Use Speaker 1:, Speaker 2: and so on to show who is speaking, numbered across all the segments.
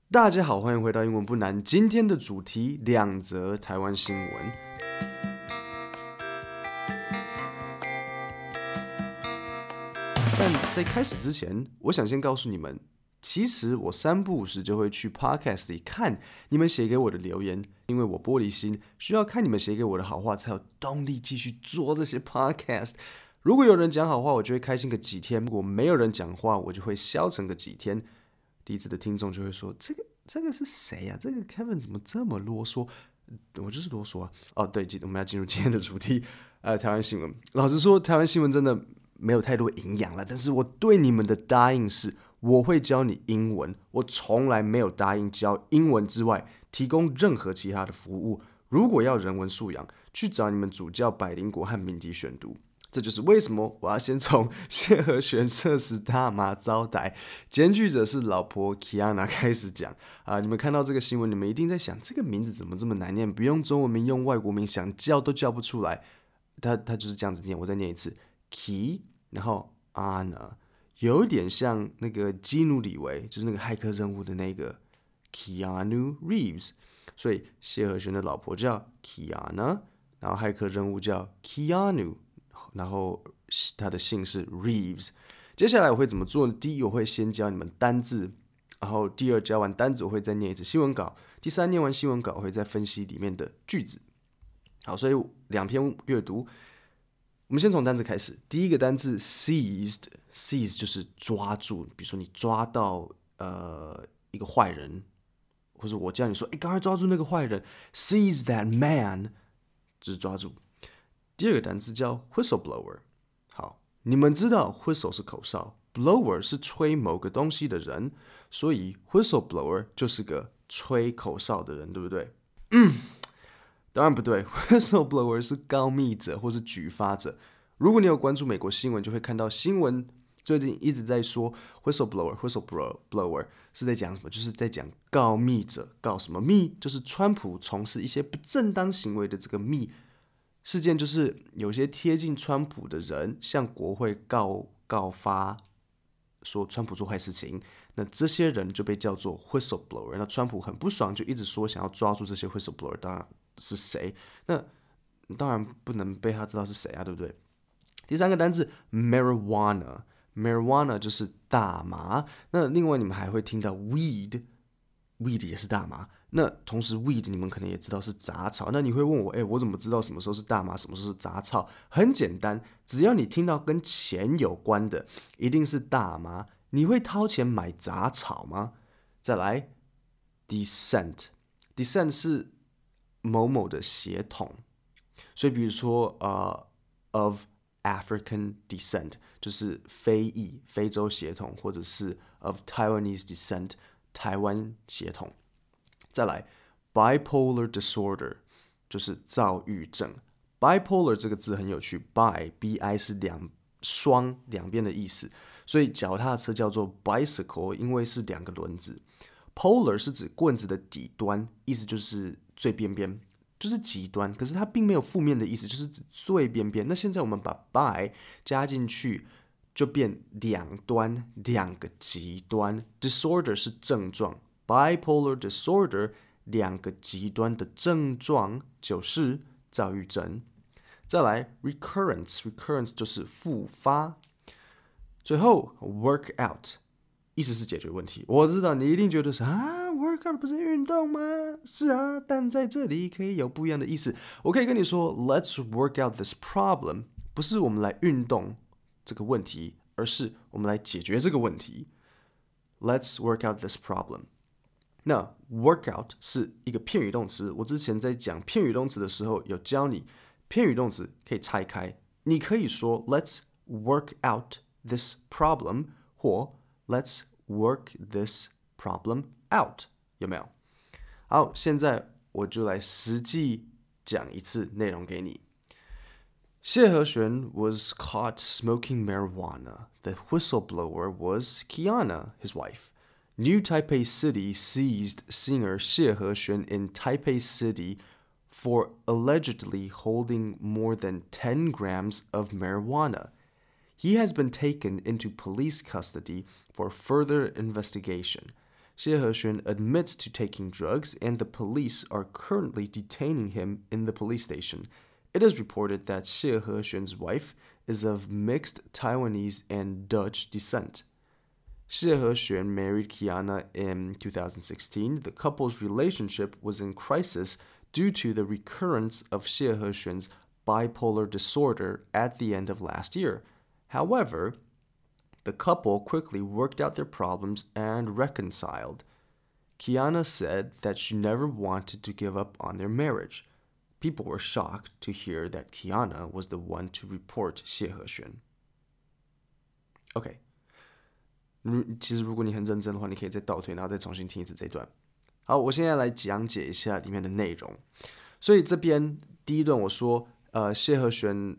Speaker 1: 大家好，欢迎回到英文不难。今天的主题两则台湾新闻。但在开始之前，我想先告诉你们，其实我三不五时就会去 Podcast 里看你们写给我的留言，因为我玻璃心，需要看你们写给我的好话，才有动力继续做这些 Podcast。如果有人讲好话，我就会开心个几天；如果没有人讲话，我就会消沉个几天。第一次的听众就会说：“这个是谁呀、这个 Kevin 怎么这么啰嗦？”我就是啰嗦啊。哦，对，我们要进入今天的主题，台湾新闻。老实说，台湾新闻真的没有太多营养了，但是我对你们的答应是，我会教你英文。我从来没有答应教英文之外，提供任何其他的服务。如果要人文素养，去找你们主教百灵果和敏迪选读。这就是为什么我要先从谢和弦涉食大麻遭逮，检举者是老婆 Kiana 开始讲啊。你们看到这个新闻，你们一定在想，这个名字怎么这么难念？不用中文名，用外国名，想叫都叫不出来。他就是这样子念，我再念一次 ，Ki， 然后 Anna， 有点像那个基努里维，就是那个骇客任务的那个 Keanu Reeves， 所以谢和弦的老婆叫 Kiana， 然后骇客任务叫 Keanu。然后他的姓是 Reeves。接下来我会怎么做呢？第一，我会先教你们单字，然后第二，教完单字我会再念一次新闻稿，第三，念完新闻稿我会再分析里面的句子。好，所以两篇阅读，我们先从单字开始。第一个单字 seized 就是抓住，比如说你抓到一个坏人，或者我叫你说，赶快抓住那个坏人 ，seize that man， 就是抓住。第二个单词叫 whistleblower。好，你们知道 whistle 是口哨 ，blower 是吹某个东西的人，所以 whistleblower 就是个吹口哨的人，对不对？当然不对，whistleblower 是告密者或是举发者。如果你有关注美国新闻，就会看到新闻最近一直在说 whistleblower 是在讲什么？就是在讲告密者，告什么密？就是川普从事一些不正当行为的这个密。事件就是有些贴近川普的人向国会告发说川普做坏事情，那这些人就被叫做 whistleblower。那川普很不爽，就一直说想要抓住这些 whistleblower，当然是谁？那当然不能被他知道是谁啊，对不对？第三个单字 marijuana 就是大麻。那另外你们还会听到 weed 也是大麻。那同时 weed 你们可能也知道是杂草。那你会问我，我怎么知道什么时候是大麻，什么时候是杂草？很简单，只要你听到跟钱有关的，一定是大麻。你会掏钱买杂草吗？再来 descent 是某某的血统。所以比如说of African descent 就是非裔非洲血统，或者是 of Taiwanese descent 台湾血统。再来 bipolar disorder 就是躁郁症。bipolar 这个字很有趣 bi 是双两边的意思，所以脚踏车叫做 bicycle， 因为是两个轮子。polar 是指棍子的底端，意思就是最边边，就是极端，可是它并没有负面的意思，就是指最边边。那现在我们把 bi 加进去，就变两端，两个极端。disorder 是症状。bipolar disorder 两个极端的症状就是躁郁症。再来 recurrence 就是复发。最后 work out 意思是解决问题。我知道你一定觉得是work out 不是运动吗？是啊，但在这里可以有不一样的意思。我可以跟你说 let's work out this problem， 不是我们来运动这个问题，而是我们来解决这个问题。Let's work out this problem。那 workout 是一个片语动词，我之前在讲片语动词的时候有教你，片语动词可以拆开，你可以说 Let's work out this problem， 或 Let's work this problem out， 有没有？好，现在我就来实际讲一次内容给你。谢和弦 was caught smoking marijuana. The whistleblower was Kiana, his wife. New Taipei City seized singer 谢和弦 in Taipei City for allegedly holding more than 10 grams of marijuana. He has been taken into police custody for further investigation. 谢和弦 admits to taking drugs, and the police are currently detaining him in the police station. It is reported that 谢和弦's wife is of mixed Taiwanese and Dutch descent. 谢和弦 married Kiana in 2016. The couple's relationship was in crisis due to the recurrence of 谢和弦's bipolar disorder at the end of last year. However, the couple quickly worked out their problems and reconciled. Kiana said that she never wanted to give up on their marriage. People were shocked to hear that Kiana was the one to report 谢和弦。OK， 其实如果你很认真的话，你可以再倒退，然后再重新听一次这一段。好，我现在来讲解一下里面的内容。所以这边第一段我说，谢和弦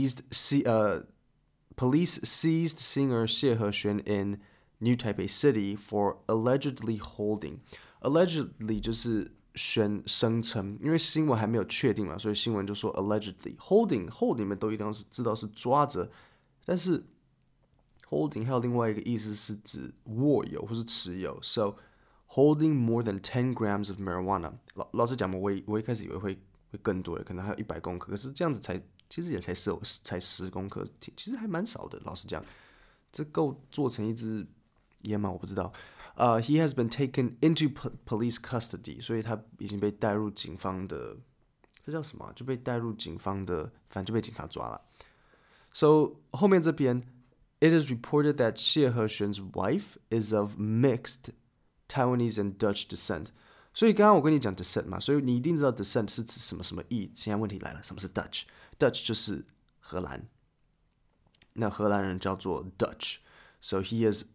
Speaker 1: police seized singer 谢和弦 in New Taipei City for allegedly holding. Allegedly 就是声称，因为新闻还没有确定嘛，所以新闻就说 allegedly hold 你们都一定要知道是抓着，但是 holding 还有另外一个意思是指握有或是持有 ，so holding more than 10 grams of marijuana。老实讲嘛，我一开始以为会更多的，可能还有100公克，可是这样子其实也才10公克，其实还蛮少的。老实讲，这够做成一支烟吗？我不知道。He has been taken into police custody， 所以他已经被带入警方的，这叫什么？就被带入警方的，反正就被警察抓了。So 后面这边 ，it is reported that 谢和弦's wife is of mixed Taiwanese and Dutch descent。所以刚刚我跟你讲 descent 嘛，所以你一定知道 descent 是指什么什么意。现在问题来了，什么是 Dutch？Dutch 就是荷兰，那荷兰人叫做 Dutch。So she is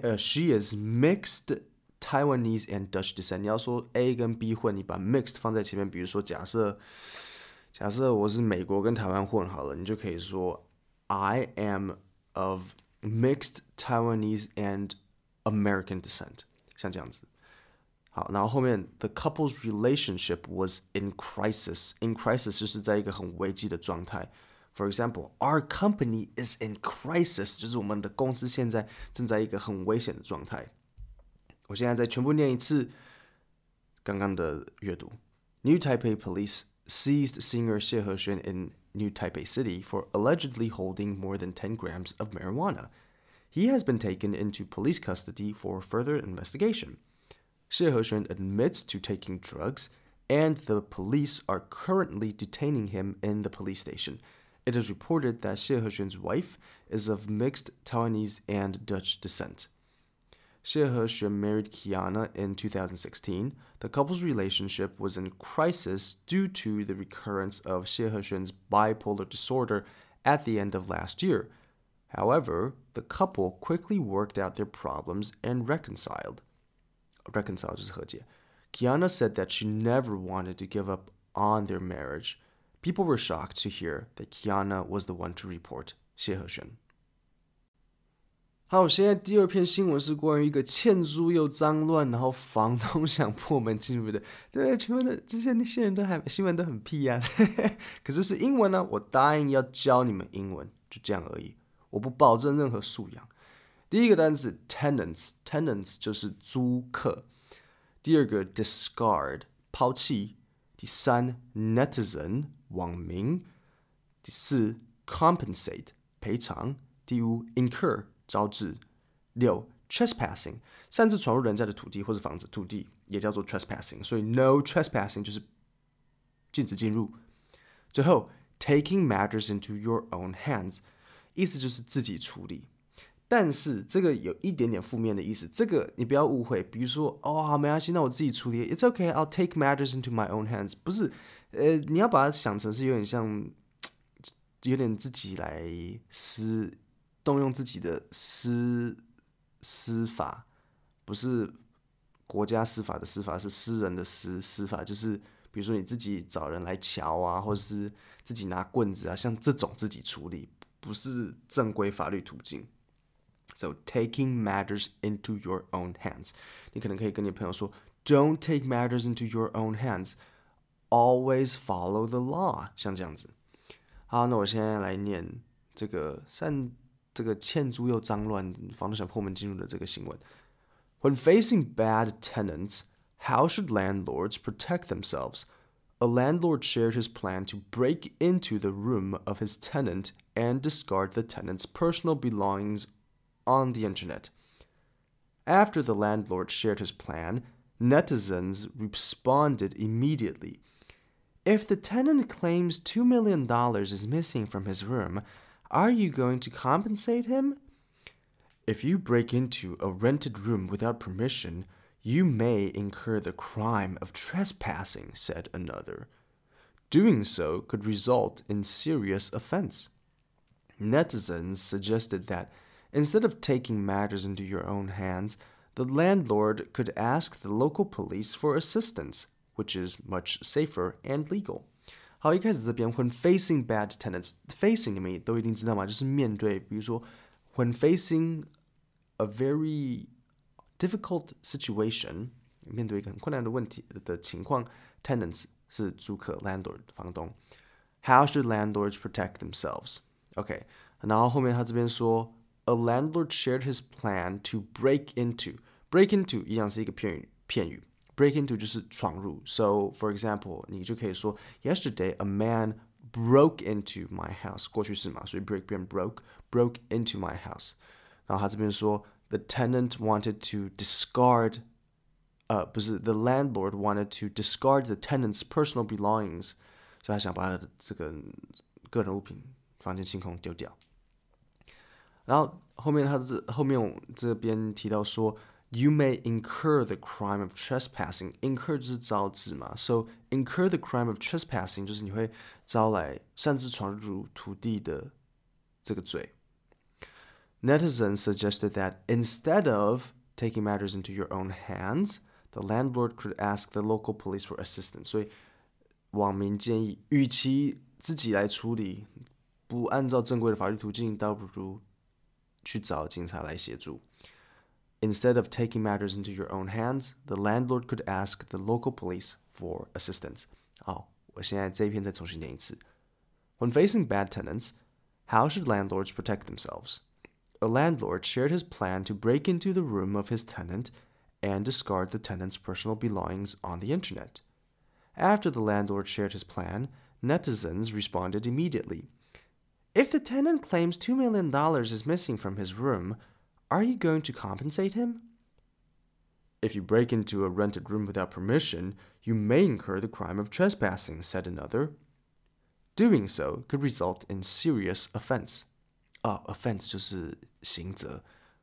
Speaker 1: mixed Taiwanese and Dutch descent。你要说 A 跟 B 混，你把 mixed 放在前面，比如说假设我是美国跟台湾混好了，你就可以说 I am of mixed Taiwanese and American descent， 像这样子。好，然后后面 the couple's relationship was in crisis。in crisis 就是在一个很危机的状态。For example, our company is in crisis， 就是我们的公司现在正在一个很危险的状态。我现在再全部念一次刚刚的阅读。New Taipei police seized singer 谢和弦 in New Taipei City for allegedly holding more than 10 grams of marijuana. He has been taken into police custody for further investigation. 谢和弦 admits to taking drugs, and the police are currently detaining him in the police station.It is reported that 谢和弦's wife is of mixed Taiwanese and Dutch descent. 谢和弦 married Kiana in 2016. The couple's relationship was in crisis due to the recurrence of 谢和弦's bipolar disorder at the end of last year. However, the couple quickly worked out their problems and reconciled. Reconcile 就是和解。Kiana said that she never wanted to give up on their marriage.People were shocked to hear that Kiana was the one to report 谢和弦。好，现在第二篇新闻是关于一个欠租又脏乱，然后房东想破门进入的。对，全部的这些那些人都还新闻都很屁啊，可是是英文呢，我答应要教你们英文，就这样而已，我不保证任何素养。第一个单词 tenants 就是租客。第二个 discard 抛弃。第三 netizen 网民。第四 compensate 赔偿。第五 incur 招致。六 trespassing 擅自闯入人家的土地或者房子，土地也叫做 trespassing， 所以 no trespassing 就是禁止进入。最后 taking matters into your own hands 意思就是自己处理。但是这个有一点点负面的意思，这个你不要误会。比如说，好，没关系，那我自己处理。It's okay, I'll take matters into my own hands。不是，你要把它想成是有点像，有点自己来动用自己的司法，不是国家司法的司法，是私人的司法，就是比如说你自己找人来瞧啊，或者是自己拿棍子啊，像这种自己处理，不是正规法律途径。So taking matters into your own hands. 你可能可以跟你朋友说 Don't take matters into your own hands. Always follow the law. 像这样子。好，那我现在来念这个欠租又脏乱，房东想破门进入的这个新闻。 When facing bad tenants, how should landlords protect themselves? A landlord shared his plan to break into the room of his tenant and discard the tenant's personal belongings on the internet. After the landlord shared his plan, netizens responded immediately. If the tenant claims $2 million is missing from his room, are you going to compensate him? If you break into a rented room without permission, you may incur the crime of trespassing, said another. Doing so could result in serious offense. Netizens suggested that instead of taking matters into your own hands, the landlord could ask the local police for assistance, which is much safer and legal. 好，一开始这边 when facing bad tenants, facing 你们也都一定知道嘛，就是面对，比如说 when facing a very difficult situation, 面对一个很困难的问题的情况 tenants 是租客 landlord 房东 How should landlords protect themselves? OK, 然后后面他这边说 A landlord shared his plan to break into 一样是一个片语break into 就是闯入 So for example 你就可以说 Yesterday a man broke into my house 过去式嘛所以 break 变 broke into my house 然后他这边说 The tenant wanted to discard不是 The landlord wanted to discard the tenant's personal belongings 所以他想把他的这个个人物品房间清空丢掉然后后面这边提到说 You may incur the crime of trespassing. Incur 就是招致嘛 So incur the crime of trespassing 就是你会招来擅自闯入土地的这个罪 Netizens suggested that instead of taking matters into your own hands, the landlord could ask the local police for assistance. 所以网民建议与其自己来处理不按照正规的法律途径倒不如去找警察来协助 Instead of taking matters into your own hands, the landlord could ask the local police for assistance. 好，我现在这一篇再重新念一次 When facing bad tenants, how should landlords protect themselves? A landlord shared his plan to break into the room of his tenant and discard the tenant's personal belongings on the internet. After the landlord shared his plan, netizens responded immediately. If the tenant claims $2 million is missing from his room, are you going to compensate him? If you break into a rented room without permission, you may incur the crime of trespassing, said another. Doing so could result in serious offense. Offense 就是刑责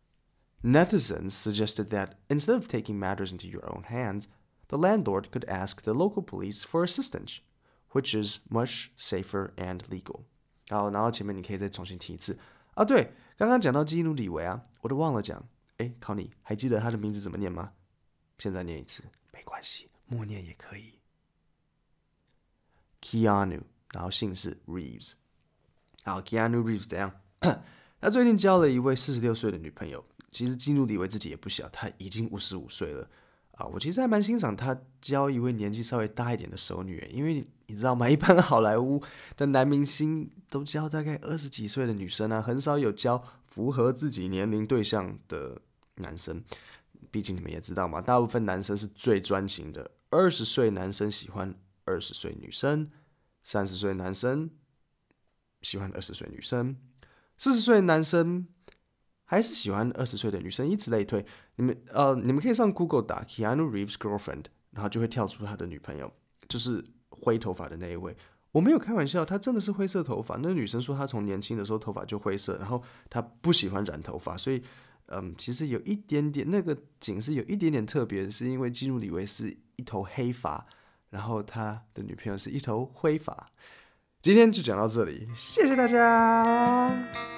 Speaker 1: Netizens suggested that instead of taking matters into your own hands, the landlord could ask the local police for assistance, which is much safer and legal. 好，然后前面你可以再重新提一次啊，对，刚刚讲到基努里维啊，我都忘了讲。哎，考你，还记得他的名字怎么念吗？现在念一次，没关系，默念也可以。Keanu， 然后姓氏 Reeves。好 ，Keanu Reeves 怎样？他最近交了一位46岁的女朋友。其实基努里维自己也不小，他已经55岁了啊。我其实还蛮欣赏他交一位年纪稍微大一点的熟女，因为你知道吗？一般好莱坞的男明星都交大概20几岁的女生啊，很少有交符合自己年龄对象的男生。毕竟你们也知道嘛，大部分男生是最专情的。20岁男生喜欢20岁女生，30岁男生喜欢20岁女生，40岁男生还是喜欢20岁的女生，以此类推。你们可以上 Google 打 Keanu Reeves girlfriend， 然后就会跳出他的女朋友，就是灰头发的那一位。我没有开玩笑，他真的是灰色头发。那女生说她从年轻的时候头发就灰色，然后她不喜欢染头发，所以其实有一点点那个景是有一点点特别的，是因为基努里维是一头黑发，然后他的女朋友是一头灰发。今天就讲到这里，谢谢大家。